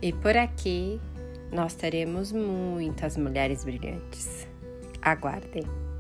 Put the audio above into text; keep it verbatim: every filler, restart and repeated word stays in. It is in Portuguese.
E por aqui nós teremos muitas mulheres brilhantes. Aguardem!